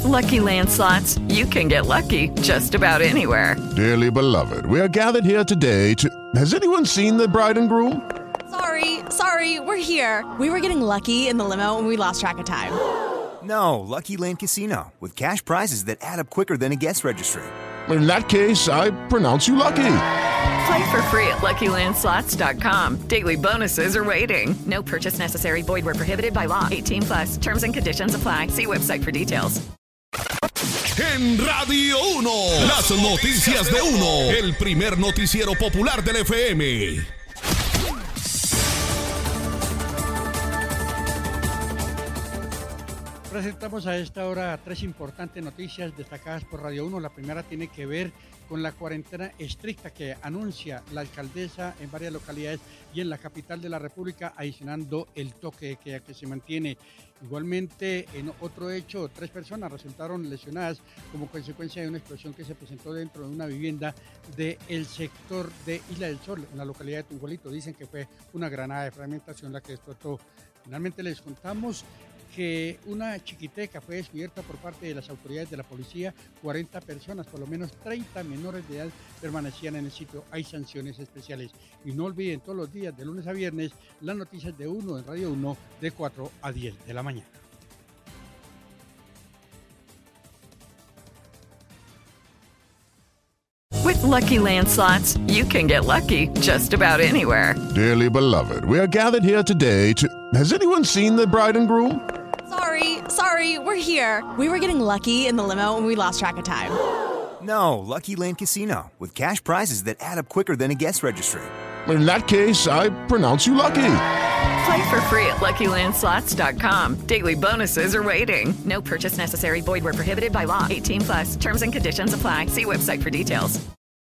Lucky Land Slots, you can get lucky just about anywhere. Dearly beloved, we are gathered here today to... Has anyone seen the bride and groom? Sorry, we're here. We were getting lucky in the limo and we lost track of time. No, Lucky Land Casino, with cash prizes that add up quicker than a guest registry. In that case, I pronounce you lucky. Play for free at LuckyLandSlots.com. Daily bonuses are waiting. No purchase necessary. Void where prohibited by law. 18+. Terms and conditions apply. See website for details. En Radio 1, las noticias de 1, el primer noticiero popular del FM. Presentamos a esta hora tres importantes noticias destacadas por Radio 1. La primera tiene que ver con la cuarentena estricta que anuncia la alcaldesa en varias localidades y en la capital de la República, adicionando el toque de queda que se mantiene. Igualmente, en otro hecho, 3 personas resultaron lesionadas como consecuencia de una explosión que se presentó dentro de una vivienda del sector de Isla del Sol, en la localidad de Tunjuelito. Dicen que fue una granada de fragmentación la que explotó. Finalmente les contamos que una chiquiteca fue descubierta por parte de las autoridades de la policía. 40 personas, por lo menos 30 menores de edad, permanecían en el sitio. Hay sanciones especiales. Y no olviden todos los días, de lunes a viernes, las noticias de 1 en Radio 1 de 4 a 10 de la mañana. With Lucky Land Slots, you can get lucky just about anywhere. Dearly beloved, we are gathered here today to... Has anyone seen the bride and groom? Sorry, we're here. We were getting lucky in the limo and we lost track of time. No, Lucky Land Casino, with cash prizes that add up quicker than a guest registry. In that case, I pronounce you lucky. Play for free at LuckyLandSlots.com. Daily bonuses are waiting. No purchase necessary. Void where prohibited by law. 18+. Terms and conditions apply. See website for details.